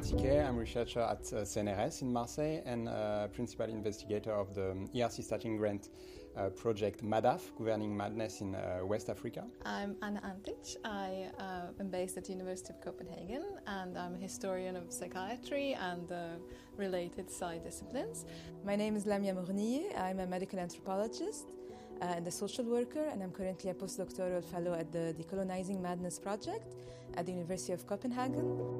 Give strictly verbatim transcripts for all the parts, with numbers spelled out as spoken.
Tiquet. I'm a researcher at uh, C N R S in Marseille and uh, principal investigator of the E R C starting grant uh, project MADAF, Governing Madness in uh, West Africa. I'm Anna Antic. I uh, am based at the University of Copenhagen and I'm a historian of psychiatry and uh, related side disciplines. My name is Lamia Mournier. I'm a medical anthropologist uh, and a social worker, and I'm currently a postdoctoral fellow at the Decolonizing Madness project at the University of Copenhagen.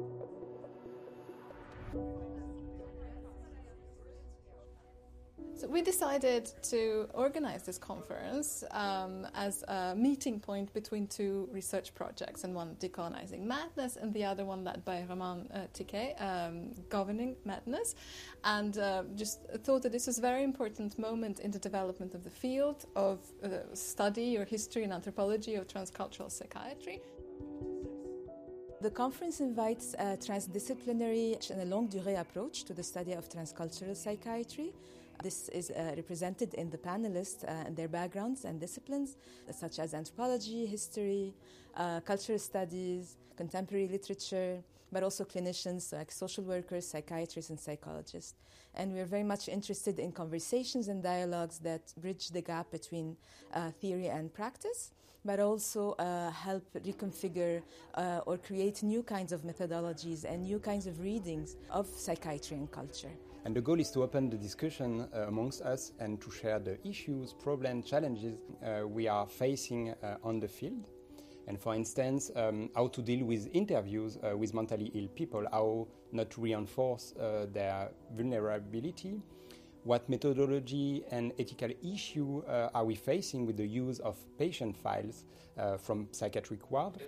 So we decided to organize this conference um, as a meeting point between two research projects, and one Decolonizing Madness and the other one led by Roman uh, Tiquet, um, Governing Madness, and uh, just thought that this was a very important moment in the development of the field of uh, study or history and anthropology of transcultural psychiatry. The conference invites a transdisciplinary and a longue durée approach to the study of transcultural psychiatry. This is uh, represented in the panelists uh, and their backgrounds and disciplines, such as anthropology, history, uh, cultural studies, contemporary literature, but also clinicians like social workers, psychiatrists, and psychologists. And we're very much interested in conversations and dialogues that bridge the gap between uh, theory and practice, but also uh, help reconfigure uh, or create new kinds of methodologies and new kinds of readings of psychiatry and culture. And the goal is to open the discussion uh, amongst us and to share the issues, problems, challenges uh, we are facing uh, on the field. And for instance, um, how to deal with interviews uh, with mentally ill people, how not to reinforce uh, their vulnerability. What methodology and ethical issue uh, are we facing with the use of patient files uh, from psychiatric ward?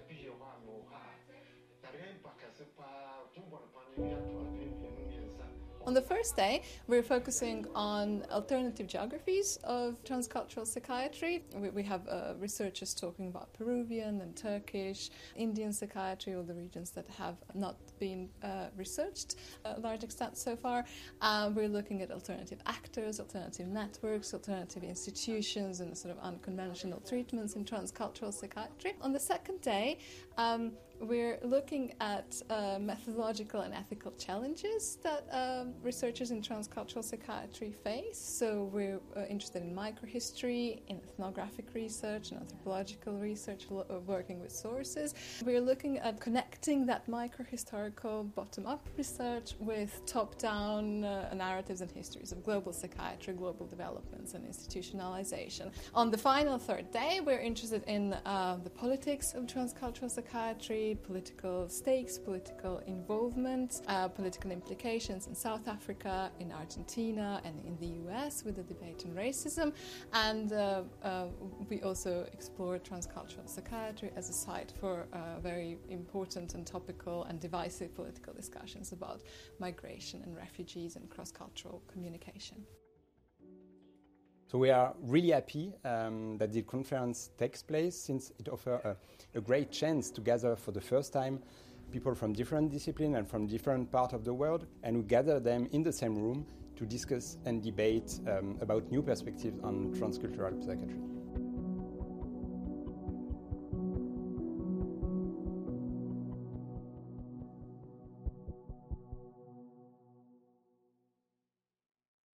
On the first day, we're focusing on alternative geographies of transcultural psychiatry. We, we have uh, researchers talking about Peruvian and Turkish, Indian psychiatry, all the regions that have not been uh, researched to a large extent so far. Uh, we're looking at alternative actors, alternative networks, alternative institutions, and sort of unconventional treatments in transcultural psychiatry. On the second day, um, we're looking at uh, methodological and ethical challenges that um, researchers in transcultural psychiatry face. So we're uh, interested in microhistory, in ethnographic research, and anthropological research, lo- working with sources. We're looking at connecting that microhistorical bottom-up research with top-down uh, narratives and histories of global psychiatry, global developments, and institutionalization. On the final third day, we're interested in uh, the politics of transcultural psychiatry, political stakes, political involvement, uh, political implications in South Africa, in Argentina, and in the U S with the debate on racism. And uh, uh, we also explore transcultural psychiatry as a site for uh, very important and topical and divisive political discussions about migration and refugees and cross-cultural communication. So we are really happy um, that the conference takes place, since it offers a, a great chance to gather for the first time people from different disciplines and from different parts of the world, and we gather them in the same room to discuss and debate um, about new perspectives on transcultural psychiatry.